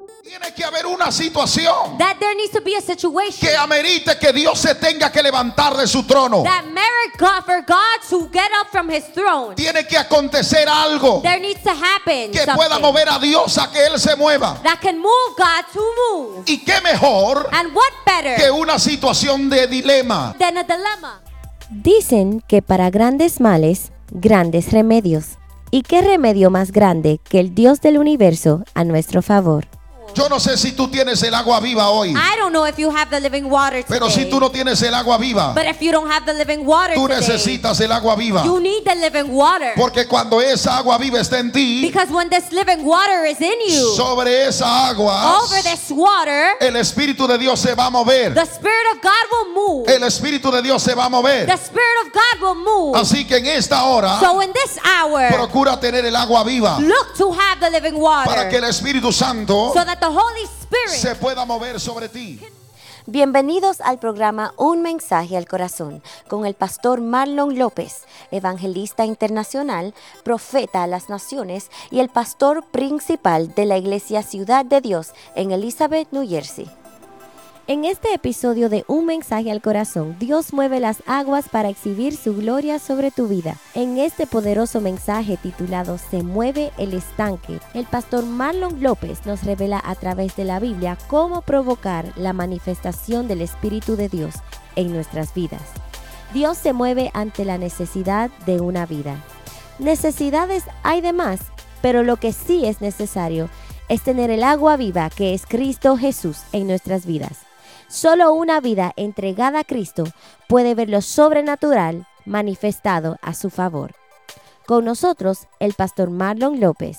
Tiene que haber una situación that there needs to be a situation que amerite que Dios se tenga que levantar de su trono. that merit God for God to get up from His throne. Tiene que acontecer algo There needs to happen que pueda something mover a Dios a que Él se mueva. that can move God to move. Y qué mejor And what que better una situación de dilema. than a dilemma? Dicen que para grandes males, grandes remedios. ¿Y qué remedio más grande que el Dios del universo a nuestro favor? Yo no sé si tú tienes el agua viva hoy, I don't know if you have the living water today. pero si tú no tienes el agua viva, But if you don't have the living water tú today, necesitas el agua viva. you need the living water. Porque cuando esa agua viva está en ti, Because when this living water is in you, sobre esa agua, over this water, el Espíritu de Dios se va a mover. the Spirit of God will move. El Espíritu de Dios se va a mover. The Spirit of God will move. Así que en esta hora, So in this hour, procura tener el agua viva look to have the living para que water el Espíritu Santo so that the Holy Spirit se pueda mover sobre ti. Bienvenidos al programa Un Mensaje al Corazón con el pastor Marlon López, evangelista internacional, profeta a las naciones y el pastor principal de la Iglesia Ciudad de Dios en Elizabeth, New Jersey. En este episodio de Un Mensaje al Corazón, Dios mueve las aguas para exhibir su gloria sobre tu vida. En este poderoso mensaje titulado Se mueve el estanque, el pastor Marlon López nos revela a través de la Biblia cómo provocar la manifestación del Espíritu de Dios en nuestras vidas. Dios se mueve ante la necesidad de una vida. Necesidades hay de más, pero lo que sí es necesario es tener el agua viva que es Cristo Jesús en nuestras vidas. Solo una vida entregada a Cristo puede ver lo sobrenatural manifestado a su favor. Con nosotros, el pastor Marlon López.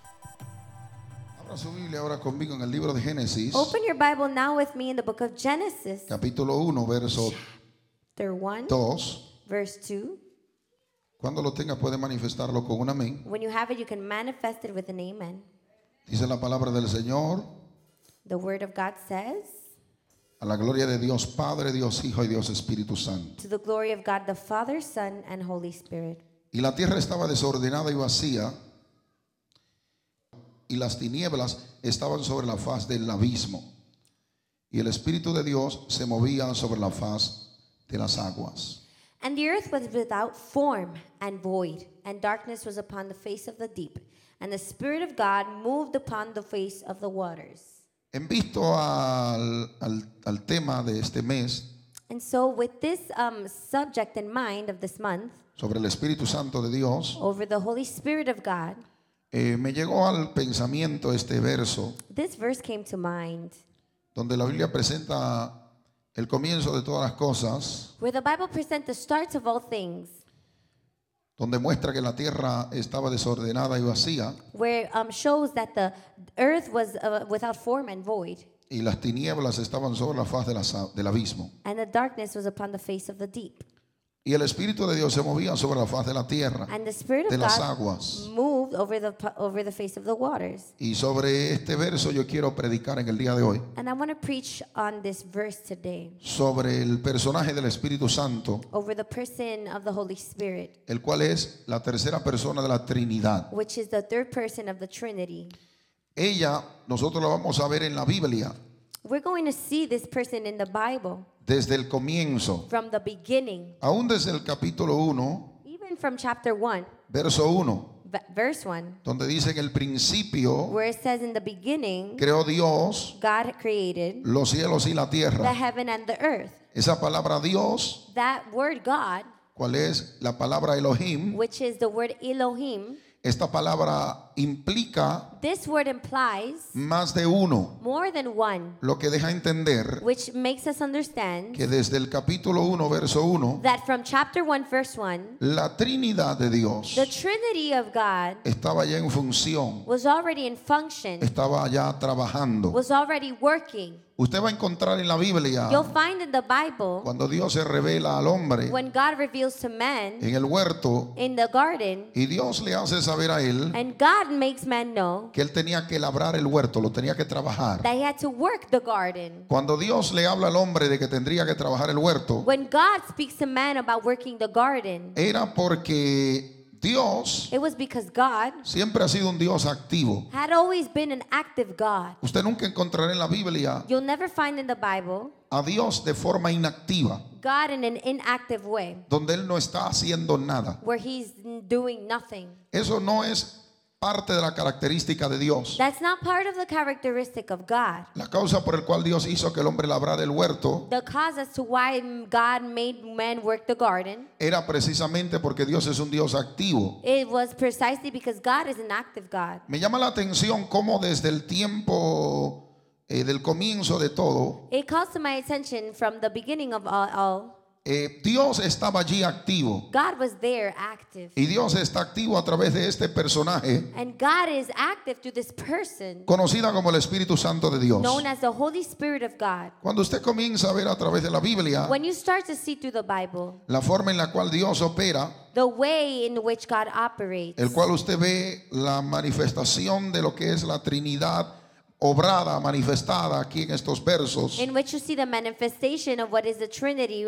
Abra su Biblia ahora conmigo en el libro de Génesis, Open your Bible now with me in the book of Genesis, capítulo 1, verso chapter 1, 2. verse 2. Cuando lo tenga puede manifestarlo con un amén. When you have it, you can manifest it with an amen. Dice la palabra del Señor, The word of God says, a la gloria de Dios Padre, Dios Hijo y Dios Espíritu Santo. to the glory of God the Father, Son, and Holy Spirit. Y la tierra estaba desordenada y vacía, y las tinieblas estaban sobre la faz del abismo, y el Espíritu de Dios se movía sobre la faz de las aguas. And the earth was without form and void, and darkness was upon the face of the deep, and the Spirit of God moved upon the face of the waters. En visto al tema de este mes And so with this subject in mind of this month, sobre el Espíritu Santo de Dios, over the Holy Spirit of God, me llegó al pensamiento este verso this verse came to mind, donde la Biblia presenta el comienzo de todas las cosas, where the Bible presents the start of all things, donde muestra que la tierra estaba desordenada y vacía, where shows that the earth was without form and void, y las tinieblas estaban sobre la faz del abismo. and the darkness was upon the face of the deep. Y el Espíritu de Dios se movía sobre la faz de la tierra, And the Spirit de of las God aguas. moved over the face of the waters. Y sobre este verso yo quiero predicar en el día de hoy, And I want to preach on this verse today, sobre el personaje del Espíritu Santo, over the person of the Holy Spirit, el cual es la tercera persona de la Trinidad. which is the third person of the Trinity. Ella, nosotros la vamos a ver en la Biblia We're going to see this person in the Bible desde el comienzo, from the beginning, aún desde el capítulo 1, even from chapter 1, verso 1, verse 1, donde dice en el principio where it says in the beginning, creó Dios God created los cielos y la the tierra. heaven and the earth. Esa palabra Dios, That word God, ¿cuál es la palabra Elohim? which is the word Elohim, Esta palabra implica this word implies más de uno, more than one, lo que deja entender which makes us understand que desde el capítulo 1, verso 1, that from chapter 1, verse 1, la Trinidad de Dios the Trinity of God estaba ya en función, was already in function, estaba ya trabajando. was already working. Usted va a encontrar en la Biblia, You'll find in the Bible, cuando Dios se revela al hombre when God reveals to man en el huerto, in the garden, y Dios le hace saber a él and God makes man know que él tenía que labrar el huerto, lo tenía que trabajar. that he had to work the garden. Cuando Dios le habla al hombre de que tendría que trabajar el huerto, When God speaks to man about working the garden, era porque Dios It was because God siempre ha sido un Dios activo. had always been an active God. Usted nunca encontrará en la Biblia You'll never find in the Bible a Dios de forma inactiva, God in an inactive way, donde Él no está haciendo nada. where He's doing nothing. Eso no es parte de la característica de Dios. That's not part of the characteristic of God. La causa por la cual Dios hizo que el hombre labrara el huerto The cause as to why God made man work the garden, era precisamente porque Dios es un Dios activo. it was precisely because God is an active God. Me llama la atención cómo desde el tiempo del comienzo de todo, It calls to my attention from the beginning of all, Dios estaba allí activo. God was there active. Y Dios está activo a través de este personaje And God is active through this person conocida como el Espíritu Santo de Dios. known as the Holy Spirit of God. Cuando usted comienza a ver a través de la Biblia When you start to see through the Bible, la forma en la cual Dios opera, the way in which God operates, el cual usted ve la manifestación de lo que es la Trinidad obrada, manifestada aquí en estos versos, in which you see the manifestation of what is the Trinity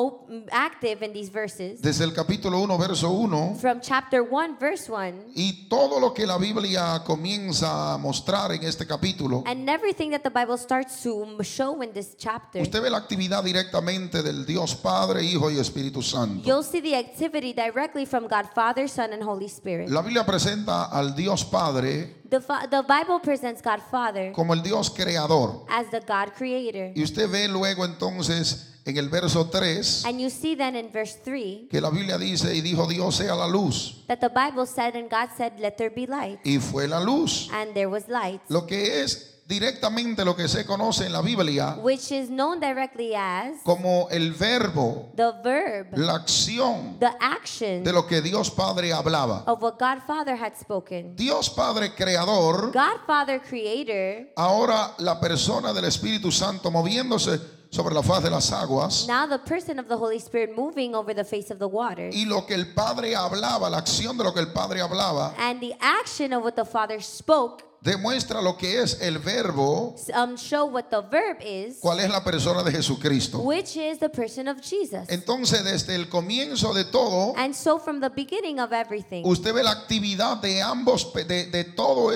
active in these verses. desde el capítulo 1, verso 1, From chapter 1, verse 1, y todo lo que la Biblia comienza a mostrar en este capítulo, and everything that the Bible starts to show in this chapter, usted ve la actividad directamente del Dios Padre, Hijo y Espíritu Santo. you'll see the activity directly from God Father, Son, and Holy Spirit. La Biblia presenta al Dios Padre The Bible presents God Father como el Dios creador. as the God Creator. Y usted ve luego entonces en el verso 3 And you see then in verse 3 que la Biblia dice, y dijo Dios sea la luz, that the Bible said, and God said, let there be light. y fue la luz. And there was light, Lo que es directamente lo que se conoce en la Biblia which is known directly as como el verbo, the verb, la acción the action de lo que Dios Padre hablaba. of what God Father had spoken. Dios Padre creador, God Father Creator, ahora la persona del Espíritu Santo moviéndose sobre la faz de las aguas, now the person of the Holy Spirit moving over the face of the waters, y lo que el Padre hablaba, la acción de lo que el Padre hablaba, and the action of what the Father spoke demuestra lo que es el verbo, show what the verb is, cuál es la persona de Jesucristo. which is the person of Jesus. Entonces, desde el comienzo de todo, And so from the beginning of everything, usted ve la actividad de ambos, de todos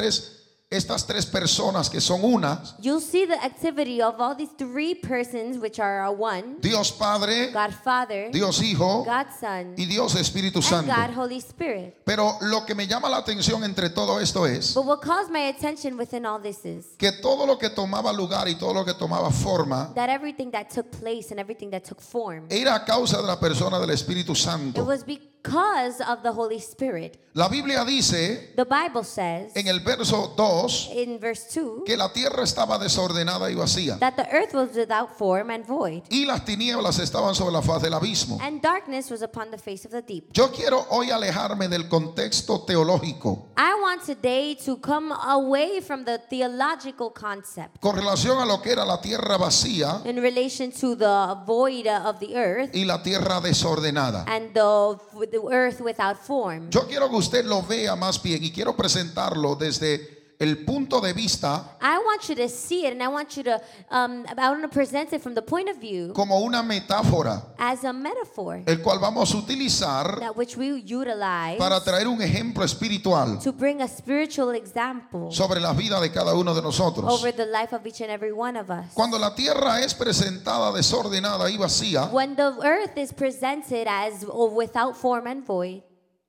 estas tres personas que son una: you'll see the activity of all these three persons, which are one: Dios Padre, God Father, Dios Hijo God Son, y Dios Espíritu and Santo. God Holy Spirit. Pero lo que me llama la atención entre todo esto es But what calls my attention within all this is que todo lo que tomaba lugar y todo lo que tomaba forma that everything that took place and everything that took form, era a causa de la persona del Espíritu it Santo. was because of the Holy Spirit. La Biblia dice The Bible says en el verso 2 in verse 2 que la tierra estaba desordenada y vacía, that the earth was without form and void, y las tinieblas estaban sobre la faz del abismo. and darkness was upon the face of the deep. Yo quiero hoy alejarme del contexto teológico I want today to come away from the theological concept con relación a lo que era la tierra vacía in relation to the void of the earth y la tierra desordenada. and the earth without form. Yo quiero que usted lo vea más bien, y quiero presentarlo desde el punto de vista I want you to see it, and I want you to I want to present it from the point of view como una metáfora, as a metaphor el cual vamos a utilizar that which we utilize para traer un ejemplo espiritual to bring a spiritual example sobre la vida de cada uno de nosotros. over the life of each and every one of us. Cuando la tierra es presentada desordenada y vacía, When the earth is presented as without form and void,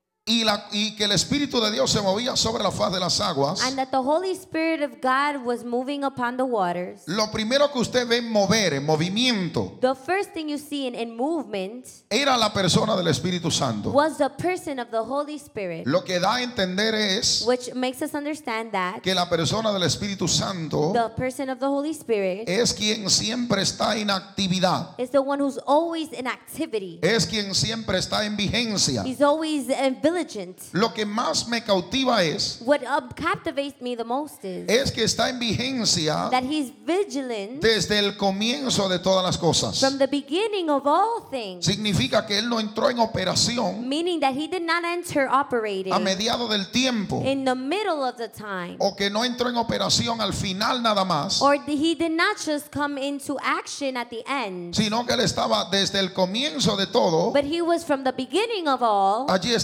y que el Espíritu de Dios se movía sobre la faz de las aguas, and that the Holy Spirit of God was moving upon the waters, lo primero que usted ve mover, en movimiento, the first thing you see in movement era la persona del Espíritu Santo. was the person of the Holy Spirit, Lo que da a entender es which makes us understand that que la persona del Espíritu Santo the person of the Holy Spirit es quien siempre está en actividad, is the one who's always in activity. es quien siempre está en vigencia. He's always vigilant. Lo que más me cautiva es What captivates me the most is que está en vigencia that he's vigilant desde el comienzo de todas las cosas. from the beginning of all things, Significa que él no entró en operación meaning that he did not enter operating a mediado del tiempo, in the middle of the time, o que no entró en operación al final nada más, or he did not just come into action at the end, sino que él estaba desde el comienzo de todo. but he was from the beginning of all. Allí estaba el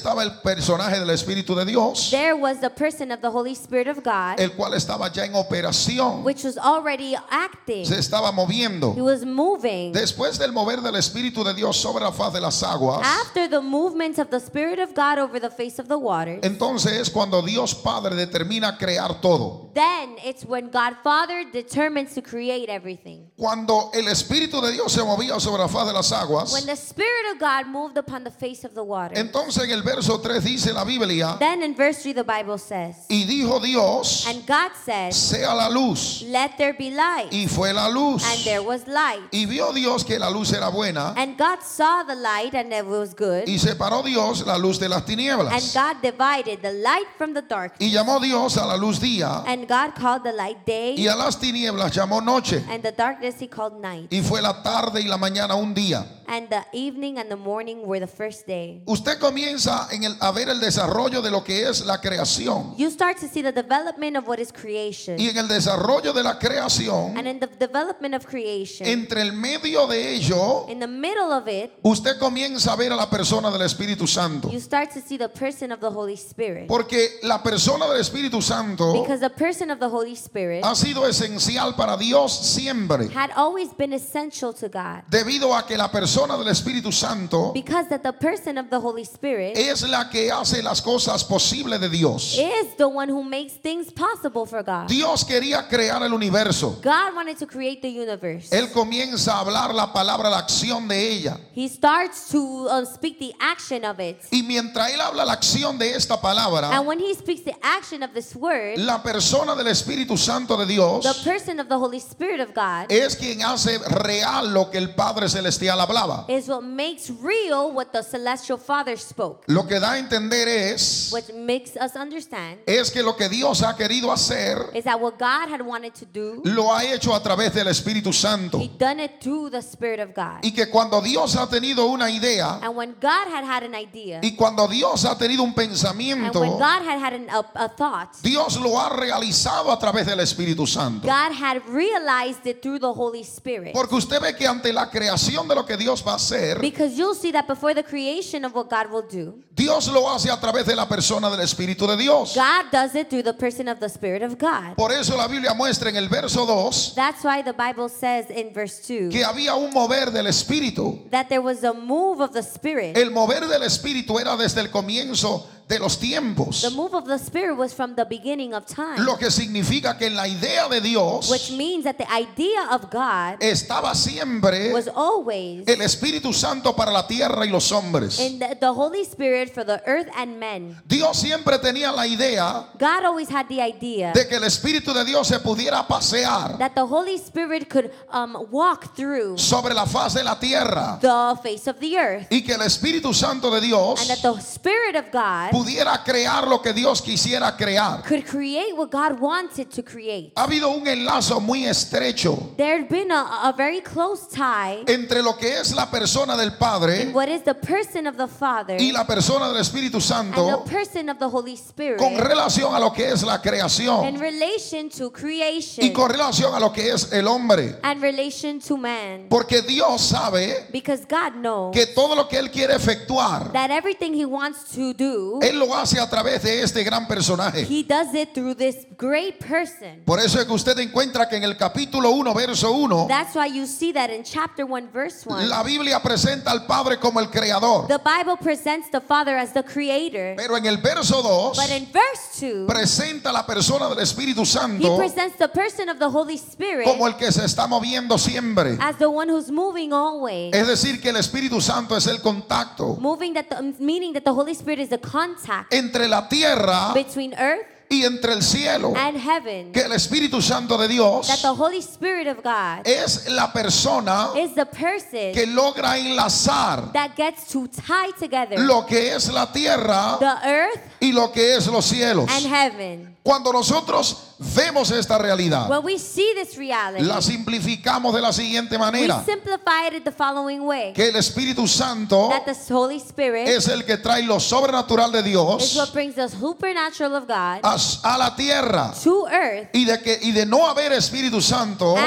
personaje del Espíritu de Dios, there was the person of the Holy Spirit of God, el cual estaba ya en operación, which was already acting. se estaba moviendo. He was moving. Después del mover del Espíritu de Dios sobre la faz de las aguas, After the movement of the Spirit of God over the face of the waters, entonces es cuando Dios Padre determina crear todo. then it's when God Father determines to create everything. Cuando el Espíritu de Dios se movía sobre la faz de las aguas, When the Spirit of God moved upon the face of the water. entonces en el verso 3 dice la Biblia, Then in verse 3 the Bible says, y dijo Dios, and God said, sea la luz, let there be light. y fue la luz. And there was light. Y vio Dios que la luz era buena, And God saw the light and it was good. y separó Dios la luz de las And tinieblas. God divided the light from the darkness. Y llamó Dios a la luz día, And God called the light day, y a las tinieblas llamó noche. and the darkness he called night. Y fue la tarde y la mañana un día. And the evening and the morning were the first day. Usted comienza a ver el desarrollo de lo que es la creación. You start to see the development of what is creation. Y en el desarrollo de la creación, And in the development of creation, entre el medio de ello, in the middle of it, usted comienza a ver a la persona del Espíritu Santo. you start to see the person of the Holy Spirit. Porque la persona del Espíritu Santo Because the person of the Holy Spirit ha sido esencial para Dios siempre. had always been essential to God. Debido a que la persona del Espíritu Santo Because that the person of the Holy Spirit es la que hace las cosas posibles de Dios. is the one who makes things possible for God. Dios quería crear el universo. God wanted to create the universe. Él comienza a hablar la palabra, la acción de ella. He starts to speak the action of it. Y mientras él habla la acción de esta palabra, And when he speaks the action of this word, la persona del Espíritu Santo de Dios the person of the Holy Spirit of God es quien hace real lo que el Padre Celestial hablaba. is what makes real what the celestial Father spoke. Lo que da a entender es What makes us understand que lo que Dios ha querido hacer is that what God had wanted to do, lo ha hecho a través del Espíritu Santo. he done it through the Spirit of God. Y que cuando Dios ha tenido una idea And when God had an idea, y cuando Dios ha tenido un and when pensamiento, God had a thought, Dios lo ha realizado a través del Espíritu Santo. God had realized it through the Holy Spirit. Porque usted ve que ante la creación de lo que Dios va a hacer, Because you'll see that before the creation of what God will do, Dios lo hace a través de la persona del Espíritu de Dios. God does it through the person of the Spirit of God. Por eso la Biblia muestra en el verso 2 That's why the Bible says in verse 2 que había un mover del Espíritu. that there was a move of the Spirit. El mover del Espíritu era desde el comienzo de los tiempos. The move of the Spirit was from the beginning of time, Lo que significa que en la idea de Dios which means that the idea of God estaba siempre was always el Espíritu Santo para la tierra y los hombres. in the Holy Spirit for the earth and men. Dios siempre tenía la idea God always had the idea de que el Espíritu de Dios se pudiera pasear that the Holy Spirit could walk through sobre la faz de la tierra the face of the earth, y que el Espíritu Santo de and Dios that the Spirit of God pudiera crear lo que Dios quisiera crear. could create what God wanted to create. Ha habido un enlazo muy estrecho There had been a very close tie entre lo que es la persona del in Padre what is the person of the Father y la persona del Espíritu and Santo the person of the Holy Spirit con relación a lo que es la in creación relation to y creation con relación a lo que es el hombre. and relation to man. Porque Dios sabe Because God knows que todo lo que Él quiere efectuar, that everything He wants to do, Él lo hace a través de este gran personaje. He does it through this great person. Por eso es que usted encuentra que en el capítulo 1, verso 1, That's why you see that in chapter 1, verse 1. la Biblia presenta al Padre como el creador. The Bible presents the Father as the creator. Pero en el verso 2 But in verse 2, presenta a la persona del Espíritu He Santo presents the person of the Holy Spirit como el que se está moviendo siempre. as the one who's moving always. Es decir, que el Espíritu Santo es el contacto Meaning that the Holy Spirit is the contact entre la tierra between earth y entre el cielo. and heaven. Que el Espíritu Santo de Dios That the Holy Spirit of God es la persona is the person que logra enlazar that gets to tie together lo que es la tierra the earth y lo que es los cielos. and heaven. Cuando nosotros vemos esta realidad, When we see this reality, la simplificamos de la siguiente we manera: simplify it the following way. que el Espíritu Santo That the Holy Spirit es el que trae lo sobrenatural de is Dios what brings the supernatural of God a la tierra, to earth, y de no haber Espíritu Santo, and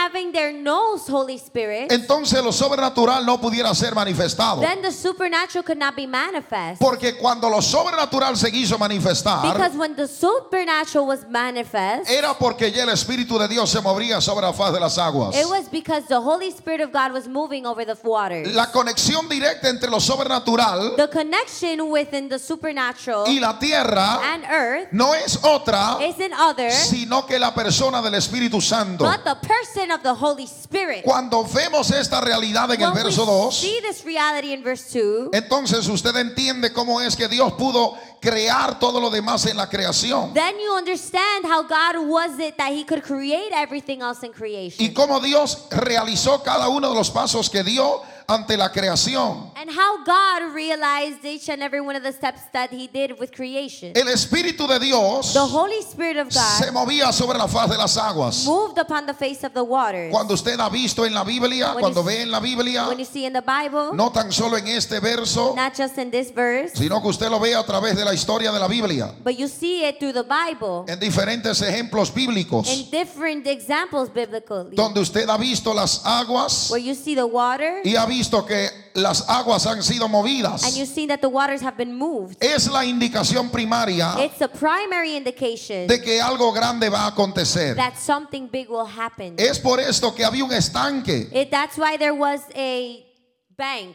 having their nose Holy Spirit, entonces lo sobrenatural no pudiera ser manifestado. then the supernatural could not be manifest. Porque cuando lo sobrenatural se quiso manifestar, Because when the supernatural was manifest, era porque ya el Espíritu de Dios se movía sobre la faz de las aguas. it was because the Holy Spirit of God was moving over the waters. La conexión directa entre lo sobrenatural The connection within the supernatural y la tierra and earth no es otra isn't other sino que la persona del Espíritu Santo. but the person of the Holy Spirit. Cuando vemos esta realidad en el When verso we 2, see this reality in verse 2, entonces usted entiende cómo es que Dios pudo crear todo lo demás en la creación. then you understand how God was it that He could create everything else in Y creation. cómo Dios realizó cada uno de los pasos que dio ante la creación. And how God realized each and every one of the steps that He did with creation. El Espíritu de Dios The Holy Spirit of se God movía sobre la faz de las aguas. moved upon the face of the waters. Cuando usted ha visto en la Biblia, When cuando you- ve en la Biblia, When you see in the Bible, no tan solo en este verso, not just in this verse, sino que usted lo ve a través de la historia de la Biblia, but you see it through the Bible en diferentes ejemplos bíblicos, in different examples biblically, donde usted ha visto las aguas where you see the water y ha visto que las aguas han sido and movidas. you see that the waters have been moved. Es la indicación primaria It's a primary indication de que algo grande va a acontecer. that something big will happen. Es por esto que había un estanque That's why there was a bank,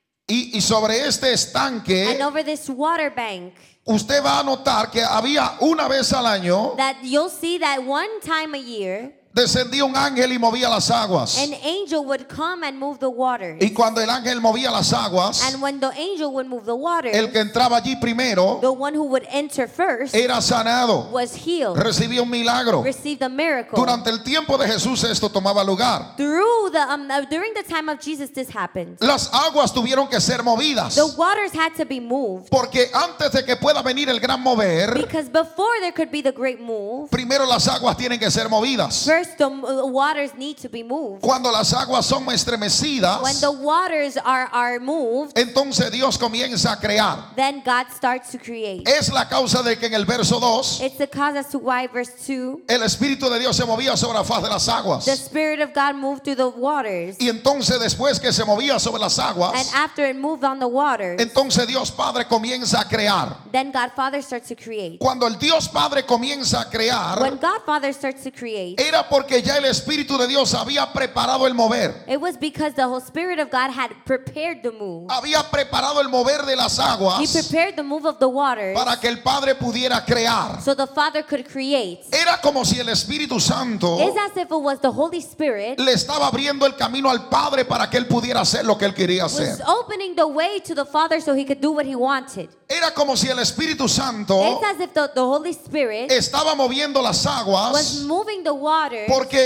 y sobre este estanque and over this water bank, usted va a notar que había una vez al año that you'll see that one time a year, descendía un ángel y movía las aguas. an angel would come and move the waters. Y cuando el ángel movía las aguas, And when the angel would move the waters, el que entraba allí primero the one who would enter first era sanado, was healed, recibía un milagro. received a miracle. Durante el tiempo de Jesús esto tomaba lugar. During the time of Jesus, this happened. Las aguas tuvieron que ser movidas, The waters had to be moved porque antes de que pueda venir el gran mover, because before there could be the great move, primero las aguas tienen que ser movidas. first the waters need to be moved. Cuando las aguas son estremecidas, When the waters are moved, entonces Dios comienza a crear. then God starts to create. Es la causa de que en el verso 2 It's the cause as to why verse 2, el Espíritu de Dios se movía sobre la faz de las aguas. the Spirit of God moved through the waters. Y entonces después que se movía sobre las And aguas, after it moved on the waters, entonces Dios Padre comienza a crear. then God Father starts to create. Cuando el Dios Padre comienza a When crear, God Father starts to create, era porque ya el Espíritu de Dios había preparado el mover. it was because the Holy Spirit of God had prepared the move. Había preparado el mover de las He aguas prepared the move of the waters para que el Padre pudiera crear. so the Father could create. Era como si el Espíritu Santo It's as if it was the Holy Spirit le estaba abriendo el camino al Padre para que él pudiera hacer lo que él quería was hacer. opening the way to the Father so He could do what He wanted. Era como si el Espíritu Santo It's as if the Holy Spirit estaba moviendo las was aguas. moving the waters.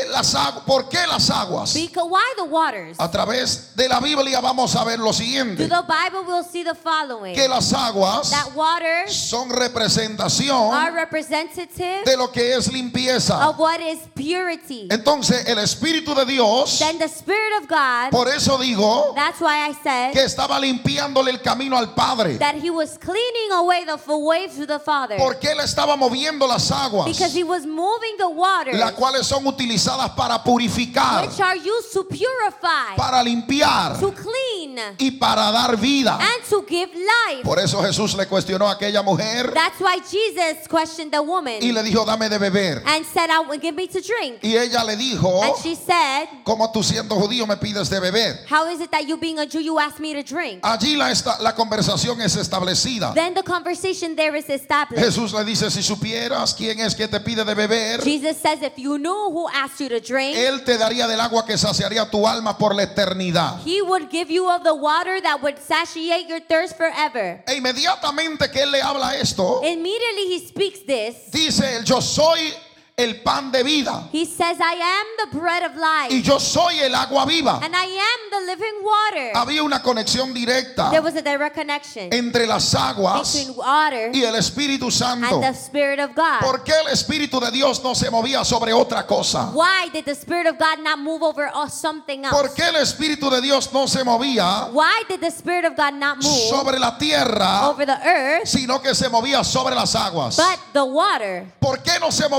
¿Por qué las aguas? Because why the waters? A través de la Biblia vamos a ver lo Through siguiente, the Bible we'll see the following. que las aguas That waters son are representación representative de lo que es limpieza. of what is purity. Entonces el Espíritu de Dios, Then the Spirit of God, por eso digo that's why I said que estaba limpiándole el camino al Padre, that He was cleaning away the way to the Father. porque él estaba moviendo las aguas, Because He was moving the waters, las cuales son utilizadas para purificar, which are used to purify, para limpiar to clean, y para dar vida. and to give life. Por eso Jesús le cuestionó a aquella mujer That's why Jesus questioned the woman y le dijo, dame de beber. and said, give me to drink. Y ella le dijo, And she said, ¿cómo tú siendo judío me pides de beber? how is it that you being a Jew, you ask me to drink? Allí la conversación es establecida. Then the conversation there is established. Jesús le dice, si supieras quién es que te pide de beber, Jesus says, if you knew who asked you to drink, él te daría del agua que saciaría tu alma por la eternidad. He would give you of the water that would satiate your thirst forever. E inmediatamente que él le habla esto, Immediately He speaks this. dice él, yo soy el pan de vida He says, I am the bread of life, y yo soy el agua viva. and I am the living water. Había una conexión directa There was a direct connection entre las aguas between water y el Espíritu Santo. and the Spirit of God. ¿Por qué el Espíritu de Dios no se movía sobre otra cosa? Why did the Spirit of God not move over something ¿Por else? qué el Espíritu de Dios no se movía Why did the Spirit of God not move sobre la tierra, over the earth, sino que se movía sobre las aguas? but the water? ¿Por qué no se movía en la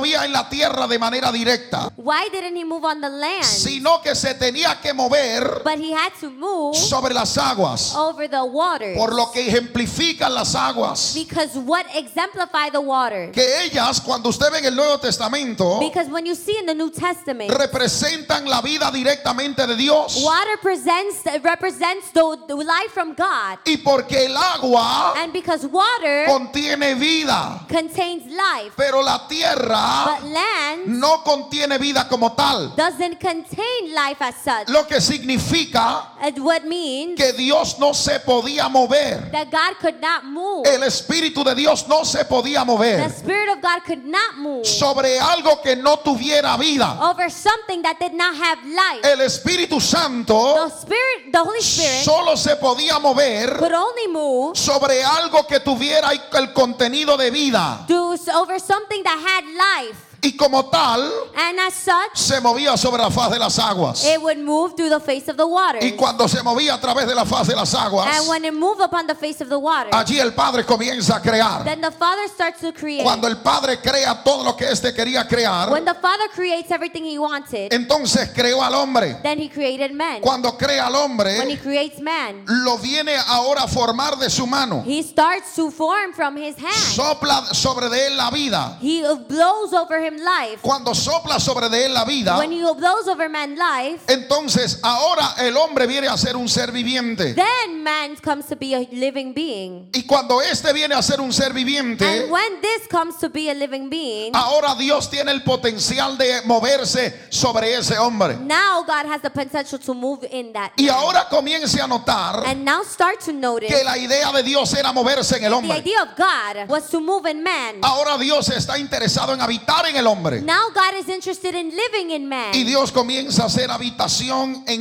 la tierra de manera directa, Why didn't he move on the land? sino que se tenía que mover But he had to move sobre las aguas, over the waters. por lo que ejemplifican las aguas, Because what exemplify the waters? que ellas, cuando usted ve en el Nuevo Testamento, Because when you see in the New Testament, representan la vida directamente de Dios. water represents the life from God. Y porque el agua And because water contiene vida, contains life, pero la tierra but land no contiene vida como tal. doesn't contain life as such. Lo que significa And what means que Dios no se podía mover. that God could not move. El Espíritu de Dios no se podía The mover Spirit of God could not move sobre algo que no tuviera vida. over something that did not have life. El Espíritu Santo The Holy Spirit solo se podía mover could only move sobre algo que tuviera el contenido de vida. over something that had life. Y como tal, And as such, se movía sobre la faz de las aguas. it would move through the face of the waters. Y cuando se movía a través de la faz de las aguas, And when it moved upon the face of the waters, allí el Padre comienza a crear. then the Father starts to create. Cuando el Padre crea todo lo que éste quería crear, When the Father creates everything He wanted, entonces creó al hombre. then He created man. Cuando crea al When He hombre, creates man, lo viene ahora a formar de su mano. He starts to form from His hand. Sopla sobre de él la vida. He blows over him life. Cuando sopla sobre de él la vida, When He blows over man life, entonces ahora el hombre viene a ser un ser viviente. then man comes to be a living being. Y cuando este viene a ser un ser viviente, And when this comes to be a living being, ahora Dios tiene el potencial de moverse sobre ese hombre. now God has the potential to move in that Y man. ahora comience a notar And now start to notice que la idea de Dios era moverse en el the hombre. idea of God was to move in man. Ahora Dios está interesado en habitar en el hombre. Now God is interested in living in man. Y Dios comienza a hacer habitación en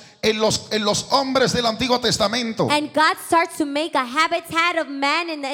los hombres del Antiguo Testamento. And God starts to make a habitat of man in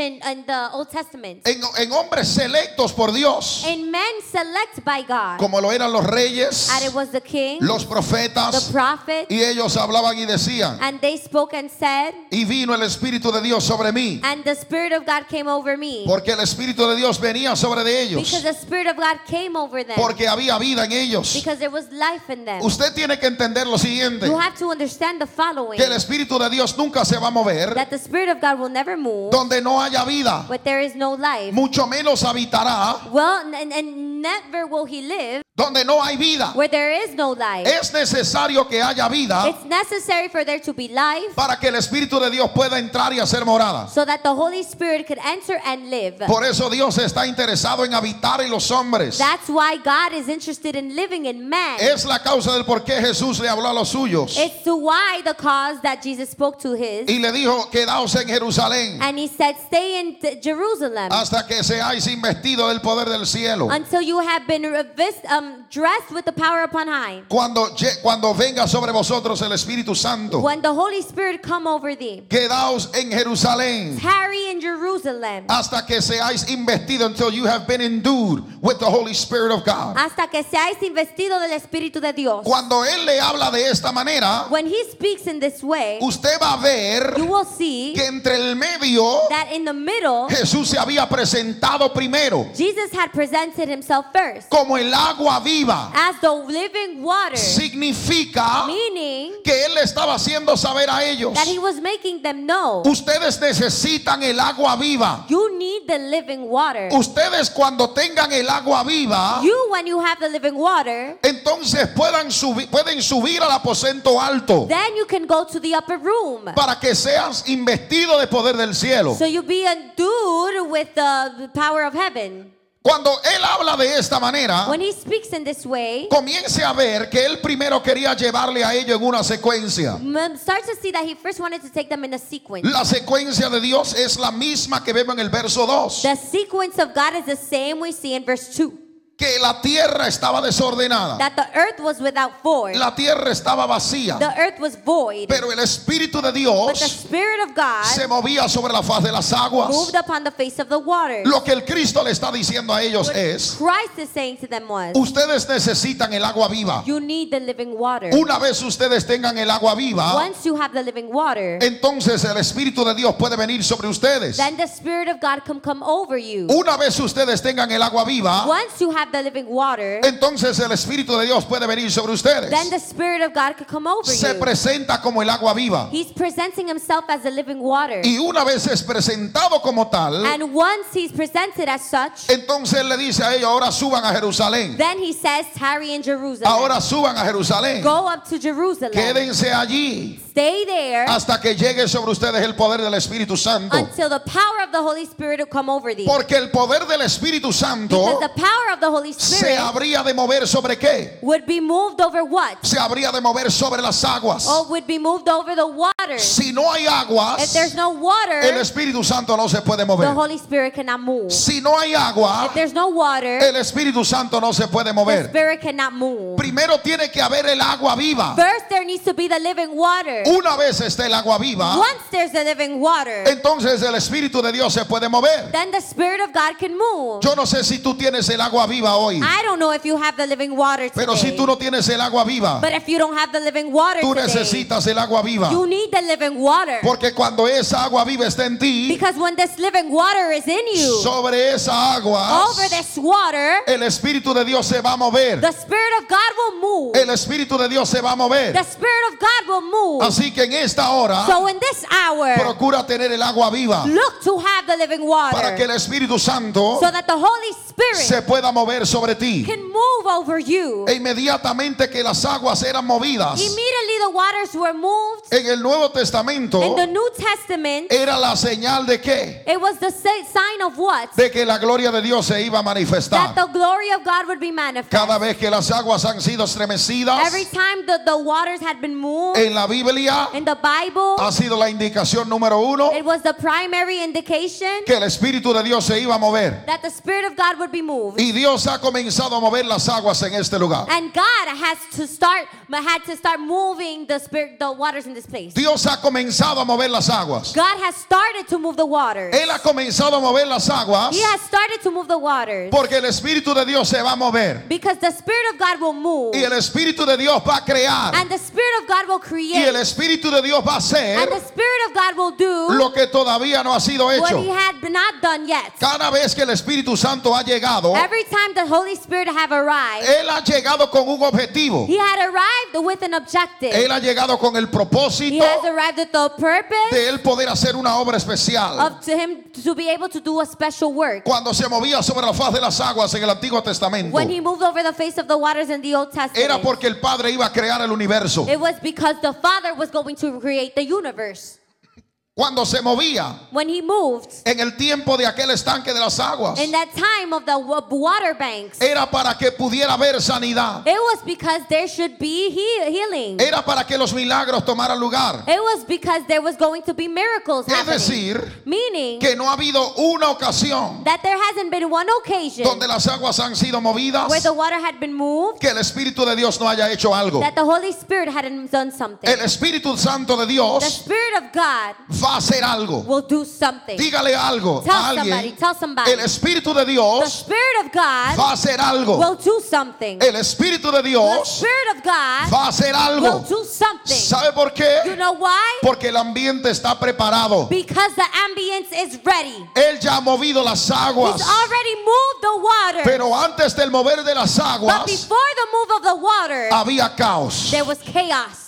the Old Testament. En hombres selectos por Dios, In men select by God. como lo eran los reyes, And it was the king, los the profetas, prophet, y ellos hablaban y decían, and they spoke and said, y vino el Espíritu de Dios sobre mí, and the Spirit of God came over me. porque el Espíritu de Dios venía sobre de ellos, Because the Spirit of God came over them. porque había vida en ellos. Because there was life in them. Usted tiene que entender lo siguiente, You have to understand the following. que el Espíritu de Dios nunca se va a mover That the Spirit of God will never move, donde no haya vida, but there is no life. mucho menos habitará Well, and never will He live donde no hay vida. where there is no life. Es necesario que haya vida It's necessary for there to be life para que el Espíritu de Dios pueda entrar y hacer morada. so that the Holy Spirit could enter and live. Por eso Dios está interesado en habitar en los hombres. That's why God is interested in living in man. Es la causa del por qué Jesús le habló a los suyos It's to why the cause that Jesus spoke to his, y le dijo, quedaos en Jerusalén and He said, stay in Jerusalem hasta que seáis investidos del poder del cielo. until you have been dressed with the power upon high. Cuando venga sobre vosotros el Espíritu Santo, When the Holy Spirit come over thee, quedaos en Jerusalén tarry in Jerusalem hasta que seáis investidos, until you have been endued with the Holy Spirit of God. hasta que seáis investido del Espíritu de Dios. Cuando Él le habla de esta manera, When He speaks in this way, usted va a ver you will see que entre el medio that in the middle, Jesús se había presentado primero Jesus had presented Himself first como el agua viva. as the living water, Significa meaning que Él le estaba haciendo saber a ellos, that He was making them know, ustedes necesitan el agua viva. you need the living water. Ustedes cuando tengan el agua viva, You, when you have the living water, entonces pueden subir al aposento alto then you can go to the upper room. para que seas investido de poder del cielo. So you be endued with the power of heaven. Cuando Él habla de esta manera, When He speaks in this way, comience a ver que Él primero quería llevarle a ellos en una secuencia. start to see that He first wanted to take them in a sequence. La secuencia de Dios es la misma que vemos en el verso 2. The sequence of God is the same we see in verse 2. Que la tierra estaba desordenada. That the earth was without form. La tierra estaba vacía. The earth was void. Pero el Espíritu de But the Dios Spirit of God se movía sobre la faz de las aguas. moved upon the face of the waters. Lo que el Cristo le está diciendo a ellos es, Christ is saying to them was, ustedes necesitan el agua viva. you need the living water. Una vez ustedes tengan el agua viva, Once you have the living water, entonces el Espíritu de Dios puede venir sobre ustedes. then the Spirit of God can come over you. Una vez ustedes tengan el agua viva, Once you have have the living water, entonces el Espíritu de Dios puede venir sobre ustedes. then the Spirit of God could come over Se you. presenta como el agua viva. He's presenting himself as the living water. Y una vez es presentado como tal, And once he's presented as such, entonces le dice a ellos, ahora suban a Jerusalén. then he says, tarry in Jerusalem. Ahora suban a Jerusalén. Go up to Jerusalem. Quédense allí Stay there hasta que llegue sobre ustedes el poder del Espíritu Santo. until the power of the Holy Spirit will come over thee. Porque el poder del Espíritu Santo Because the power of the Holy se Spirit habría de mover sobre qué? would be moved over what? Se habría de mover sobre las aguas. Or would be moved over the water. Si no hay aguas, If there's no water, el Espíritu Santo no se puede the mover. Holy Spirit cannot move. Si no hay agua, If there's no water, el Espíritu Santo no se puede the mover. Spirit cannot move. Primero tiene que haber el agua viva. First, there needs to be the living water. Una vez esté el agua viva, Once there's the living water, entonces el Espíritu de Dios se puede mover. then the Spirit of God can move. Yo no sé si tú tienes el agua viva hoy, I don't know if you have the living water pero si today, tú no tienes el agua viva, but if you don't have the living water tú today, necesitas el agua viva. you need the living water. Porque cuando esa agua viva está en ti, Because when this living water is in you, sobre esa agua, over this water, el Espíritu de Dios se va a mover. the Spirit of God will move. El Espíritu de Dios se va a mover. The Spirit of God will move. Así que en esta hora, So in this hour, procura tener el agua viva look to have the living para que water el Espíritu Santo so that the Holy Spirit se pueda mover sobre ti. can move over you. E inmediatamente que las aguas eran movidas Immediately the waters were moved. en el Nuevo Testamento, In the New Testament, era la señal de qué? it was the sign of what? De que la gloria de Dios se iba a manifestar. That the glory of God would be manifest. Cada vez que las aguas han sido estremecidas Every time the waters had been moved en la Biblia, in the Bible, ha sido la indicación número uno it was the primary indication que el Espíritu de Dios se iba a mover. that the Spirit of God would be moved. Y Dios ha comenzado a mover las aguas en este lugar. And God had to start moving the waters in this place. Dios ha comenzado a mover las aguas. God has started to move the waters. Él ha comenzado a mover las aguas He has started to move the waters porque el Espíritu de Dios se va a mover. because the Spirit of God will move. Y el Espíritu de Dios va a crear. And the Spirit of God will Y el create. Espíritu de Dios va a hacer And the Spirit of God will do lo que todavía no ha sido what hecho. He had not done yet. Cada vez que el Espíritu Santo ha llegado, Every time the Holy Spirit have arrived, Él ha llegado con un objetivo. He had arrived with an objective. Él ha llegado con el He propósito has arrived with the purpose de Él poder hacer una obra especial. of to Him to be able to do a special work. Cuando se movía sobre la faz de las aguas en el Antiguo Testamento, When He moved over the face of the waters in the Old era Testament, porque el Padre iba a crear el universo. it was because the Father was going to create the universe. Cuando se movía When He moved en el tiempo de aquel estanque de las aguas, in that time of the water banks, era para que pudiera haber sanidad. it was because there should be healing. Era para que los milagros tomaran lugar. It was because there was going to be miracles Es happening. decir, Meaning que no ha habido una ocasión that there hasn't been one occasion donde las aguas han sido movidas where the water had been moved que el Espíritu de Dios no haya hecho algo. that the Holy Spirit hadn't done something. El Espíritu Santo de The Dios Spirit of God va a hacer algo. will do something. Dígale algo Tell a somebody, alguien. tell somebody. El Espíritu de The Dios Spirit of God va a hacer algo. will do something. El Espíritu de The Dios Spirit of God va a hacer will algo. do something. ¿Sabe por You qué? know why? Porque el ambiente está preparado. Because the ambience is ready. Él ya ha movido las aguas. He's already moved the water. Pero antes del mover de las But aguas before the move of the water, había caos. there was chaos.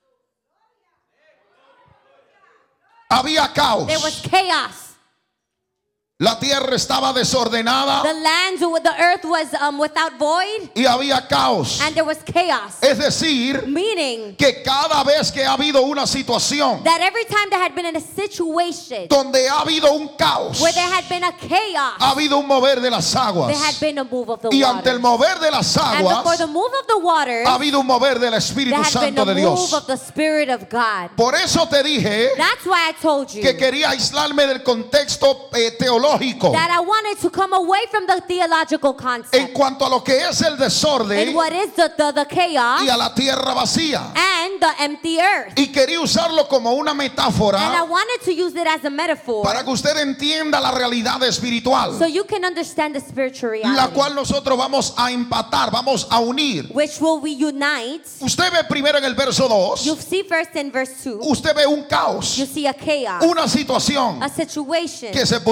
Había caos. There was chaos. La tierra estaba desordenada The earth was without void, y había caos. and there was chaos. Es decir, Meaning que cada vez que ha habido una situación that every time there had been in a situation donde ha habido un caos, where there had been a chaos, ha habido un mover de las there aguas. had been a move of the Y ante el water. mover de las And before aguas, the move of the water, ha habido un mover del there Espíritu had been Santo a de move Dios. of the Spirit of God. Por eso te dije That's why I told you que quería aislarme del contexto teológico that I wanted to come away from the theological en concept cuanto a lo que es el desorden and what is the chaos y a la tierra vacía. and the empty earth. Y quería usarlo como una And I metáfora wanted to use it as a metaphor para que usted entienda la realidad espiritual, so you can understand the spiritual la reality, cual nosotros vamos a empatar, vamos a unir. which will reunite. Usted ve primero en el verso 2, You see first in verse 2, usted ve un caos, you see a chaos, una situación a situation que se pudiera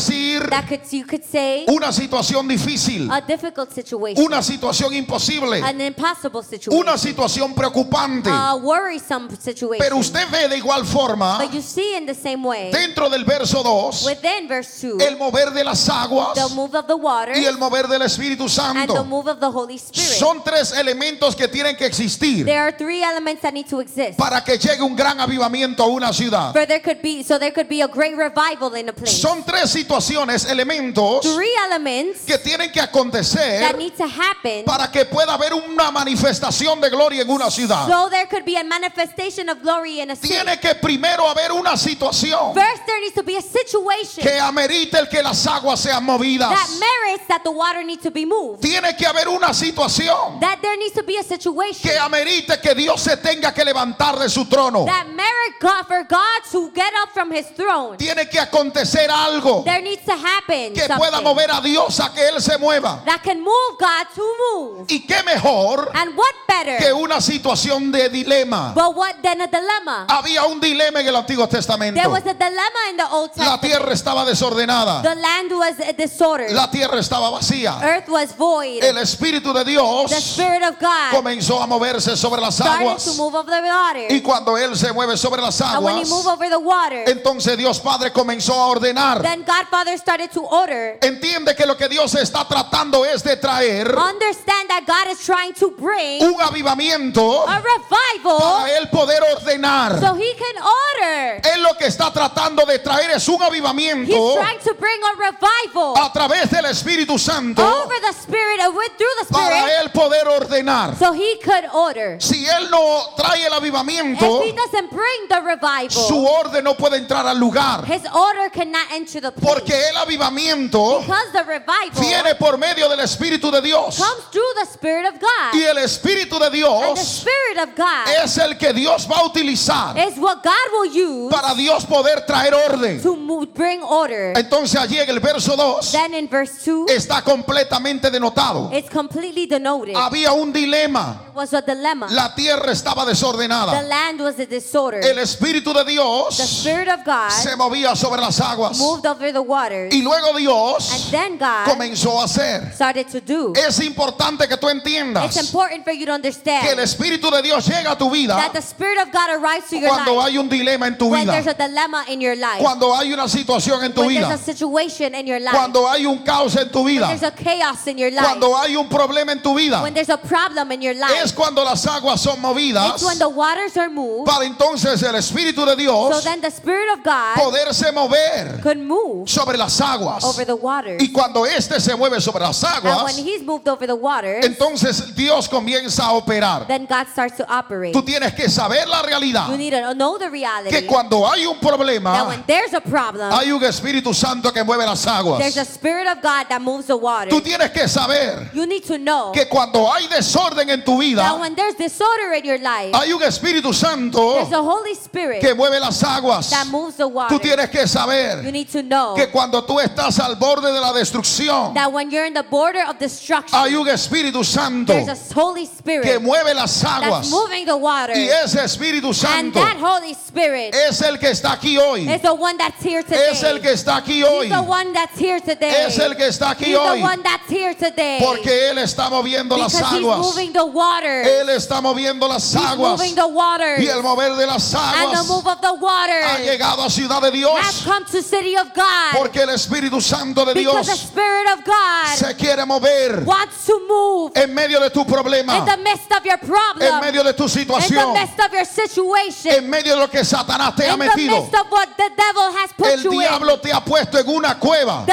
decir you could say una situación difícil, a difficult situation, una situación imposible, an impossible situation, una situación preocupante. a worrisome situation. Pero usted ve de igual forma, But you see in the same way, dentro del verso 2, within verse 2, el mover de las aguas the move of the water y el mover del Espíritu and the Santo. move of the Holy Spirit. Son tres elementos que tienen que existir There are three elements that need to exist para que llegue un gran avivamiento a una ciudad. for there could be a great revival in a place. Son tres situaciones, elementos Three elements que tienen que that acontecer need to happen para que pueda haber una manifestación de gloria en una ciudad. so there could be a manifestation of glory in a city. Tiene que primero haber una situación First, there needs to be a situation que amerite el que las aguas sean movidas. that merits that the water needs to be moved. Tiene que haber una situación That there needs to be a situation que amerite que Dios se tenga que levantar de su trono. that merit God for God to get up from His throne. Tiene que acontecer algo There needs to happen que pueda something mover a Dios a que Él se mueva. that can move God to move. Y qué mejor And what better? que una situación de dilema. But what then a dilemma? Había un dilema en el Antiguo Testamento. There was a dilemma in the Old La Testament. tierra estaba desordenada. The land was disordered. La tierra estaba vacía. Earth was void. El Espíritu de The Dios Spirit of God comenzó a moverse sobre las started to aguas. move over the water. Y cuando Él se mueve sobre las And when He aguas, moved over the water, entonces Dios Padre comenzó a ordenar. then God Father started to order. Entiende que lo que Dios está tratando es de traer Understand that God is trying to bring un avivamiento a revival para Él poder ordenar. so He can order. Él lo que está tratando de traer es un He's avivamiento trying to bring a revival a través del Espíritu Santo over the Spirit and through the para Spirit Él poder ordenar. so He could order. Si Él no trae el avivamiento, If He doesn't bring the su revival, orden no puede entrar al lugar. His order cannot enter the place. Porque el avivamiento Because the revival viene por medio del Espíritu de Dios. comes through the Spirit of God. Y el Espíritu de And the Dios Spirit of God es el que Dios va a utilizar is what God will use para Dios poder traer orden. to bring order. Entonces allí en el verso 2 Then in verse 2, está completamente denotado. it's completely denoted. Había un dilema. It was a dilemma. La tierra estaba The desordenada. land was a disorder. El Espíritu de The Dios Spirit of God se movía sobre las aguas. moved over the waters. Y luego And Dios then God comenzó a hacer. started to do. Es importante que tú It's entiendas important for you to que el understand Espíritu de Dios llega a tu vida that the Spirit of God arrives to your cuando life hay un dilema en tu when vida, there's a dilemma in your life, cuando hay una situación en tu when there's vida, a situation in your life, cuando hay un caos en tu when vida, there's a chaos in your life, cuando hay un problema en tu vida. when there's a problem in your Es life. cuando las aguas son movidas It's when the waters are moved, para entonces el Espíritu de so Dios then the Spirit of God poderse mover could move sobre las aguas. over the waters. Y cuando éste se mueve sobre las And when aguas, He's moved over the waters, entonces Dios comienza a operar. then God starts to operate. Tú tienes que saber la realidad You need to know the reality que cuando hay un that problema, when there's a problem, hay un Espíritu Santo que mueve las aguas. there's a Spirit of God that moves the water. Tú tienes que saber You need to know que cuando hay desorden en tu that vida, when there's disorder in your life, hay un Espíritu Santo there's a Holy Spirit que mueve las aguas. that moves the water. Tú tienes que You saber need to know que cuando tú estás al borde de la destrucción, that when you're in the border of destruction, hay un Espíritu Santo there's a Holy que Spirit mueve las that's aguas. moving the water. Y ese Espíritu And Santo that Holy Spirit es el que está aquí hoy. is the one that's here today. Es el que está aquí hoy. He's the one that's here today. Es el que está aquí He's hoy. the one that's here today. Porque Él está moviendo las because He's aguas. moving the water. Él está moviendo las He's aguas. moving the water. Y el mover de las And the aguas move of the water ha llegado a Ciudad de has Dios. come to city of God. Porque el Espíritu Santo de Because the Dios Spirit of God se quiere mover wants to move en medio de tu problema, in the midst of your problem, en medio de tu in the situación, midst of your situation, en medio de lo que Satanás te ha in the metido. midst of what the devil has put El you in. diablo te ha puesto en una cueva.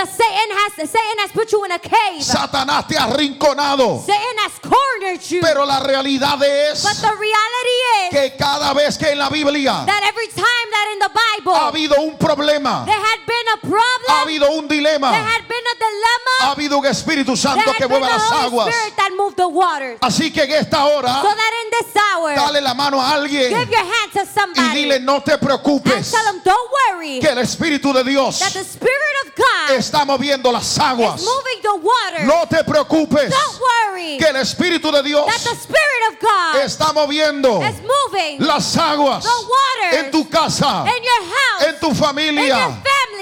Satan has put you in a cave. Satanás te ha arrinconado. Satan has cornered you. Pero la realidad es But the reality is que cada vez que en la Biblia that every time that in the Bible ha habido un problema, there had been a ha problem, habido un there dilema, had been a dilemma, ha habido un Espíritu there Santo que had been mueve a las Holy aguas. Spirit that moved the waters. Así que en esta hora, So that in this hour, dale la mano a alguien give your hand to y somebody dile: no te and preocupes, tell them, don't worry, que el Espíritu de Dios that the Spirit of God está moviendo las aguas. is moving the water. No te preocupes, Don't worry, que el Espíritu de Dios that the Spirit of God está moviendo is moving las aguas the waters en tu casa, in your house, en tu in your familia, family,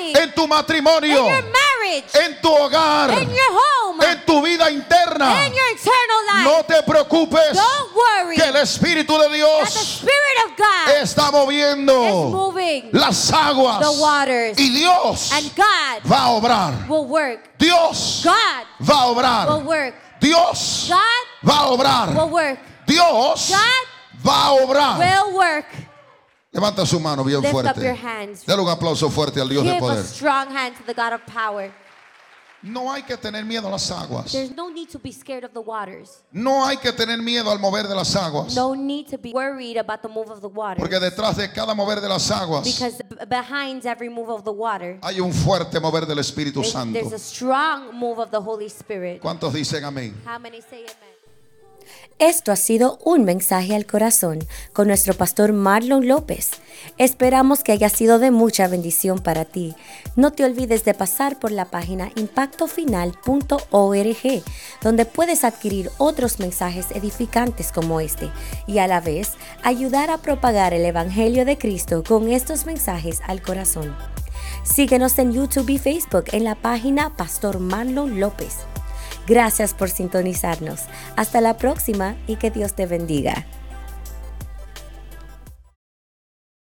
en tu matrimonio, in your marriage, en tu hogar, in your home, en tu vida interna. in your eternal life. No te preocupes, Don't worry que el Espíritu de that the Dios Spirit of God está is moviendo moving las aguas, the waters, y Dios and God va a obrar. will work. Dios God va a will obrar. work. Dios God va a obrar. will work. Dios God va a obrar. will work. Levanta su mano bien Lift up your fuerte. hands. Dale un aplauso fuerte al Dios de Give a poder. strong hand to the God of power. No hay que tener miedo a las aguas. There's no need to be scared of the waters. No hay que tener miedo al mover de las aguas. No need to be worried about the move of the water. Porque detrás de cada mover de las aguas Because behind every move of the water, hay un fuerte mover del Espíritu there's Santo. a strong move of the Holy Spirit. ¿Cuántos dicen amén? How many say amen? Esto ha sido un mensaje al corazón con nuestro pastor Marlon López. Esperamos que haya sido de mucha bendición para ti. No te olvides de pasar por la página impactofinal.org, donde puedes adquirir otros mensajes edificantes como este y a la vez ayudar a propagar el Evangelio de Cristo con estos mensajes al corazón. Síguenos en YouTube y Facebook en la página Pastor Marlon López. Gracias por sintonizarnos. Hasta la próxima y que Dios te bendiga.